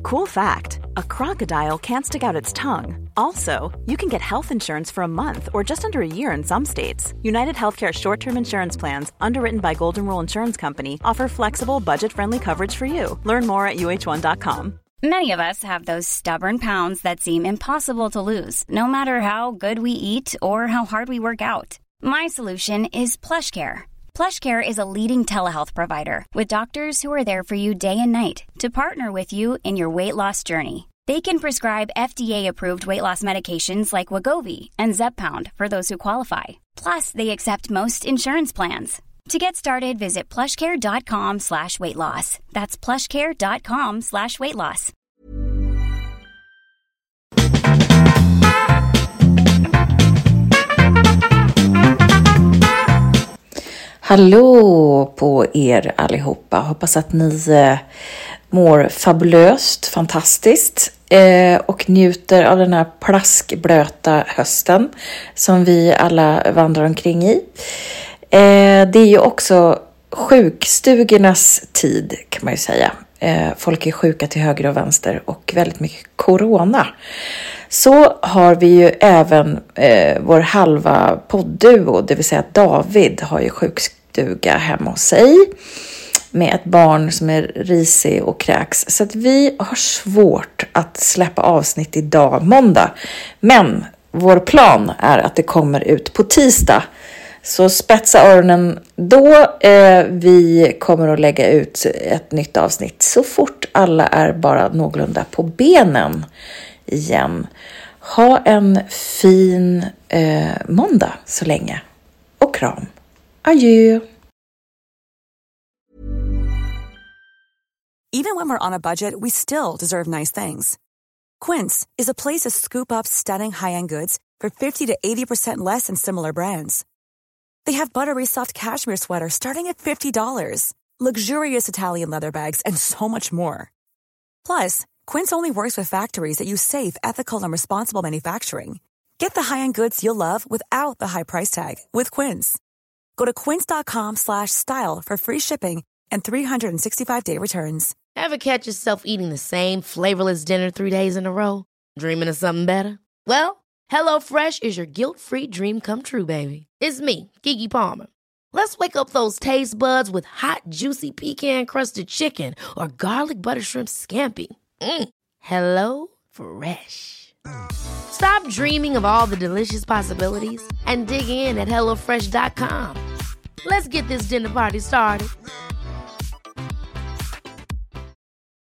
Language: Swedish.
Cool fact, a crocodile can't stick out its tongue. Also, you can get health insurance for a month or just under a year in some states. United Healthcare short-term insurance plans, underwritten by Golden Rule Insurance Company, offer flexible, budget-friendly coverage for you. Learn more at uh1.com. Many of us have those stubborn pounds that seem impossible to lose, no matter how good we eat or how hard we work out. My solution is PlushCare. PlushCare is a leading telehealth provider with doctors who are there for you day and night to partner with you in your weight loss journey. They can prescribe FDA-approved weight loss medications like Wegovy and Zepbound for those who qualify. Plus, they accept most insurance plans. To get started, visit plushcare.com/weightloss. That's plushcare.com/weightloss. Hallå på er allihopa. Hoppas att ni mår fabulöst, fantastiskt och njuter av den här plaskblöta hösten som vi alla vandrar omkring i. Det är ju också sjukstugornas tid, kan man ju säga. Folk är sjuka till höger och vänster och väldigt mycket corona. Så har vi ju även vår halva poddduo, det vill säga David har ju sjukstuga hemma hos sig med ett barn som är risig och kräks. Så att vi har svårt att släppa avsnitt idag, måndag. Men vår plan är att det kommer ut på tisdag. Så spetsa öronen då. Vi kommer att lägga ut ett nytt avsnitt så fort alla är bara någorlunda på benen igen. Ha en fin måndag så länge. Och kram. Adjö. Even when we're on a budget, we still deserve nice things. Quince is a place to scoop up stunning high-end goods for 50 to 80% less than similar brands. They have buttery soft cashmere sweaters starting at $50, luxurious Italian leather bags, and so much more. Plus, Quince only works with factories that use safe, ethical, and responsible manufacturing. Get the high-end goods you'll love without the high price tag with Quince. Go to quince.com/style for free shipping and 365-day returns. Ever catch yourself eating the same flavorless dinner 3 days in a row? Dreaming of something better? Well, HelloFresh is your guilt-free dream come true, baby. It's me, Keke Palmer. Let's wake up those taste buds with hot, juicy pecan-crusted chicken or garlic butter shrimp scampi. Hello Fresh. Stop dreaming of all the delicious possibilities and dig in at HelloFresh.com. Let's get this dinner party started.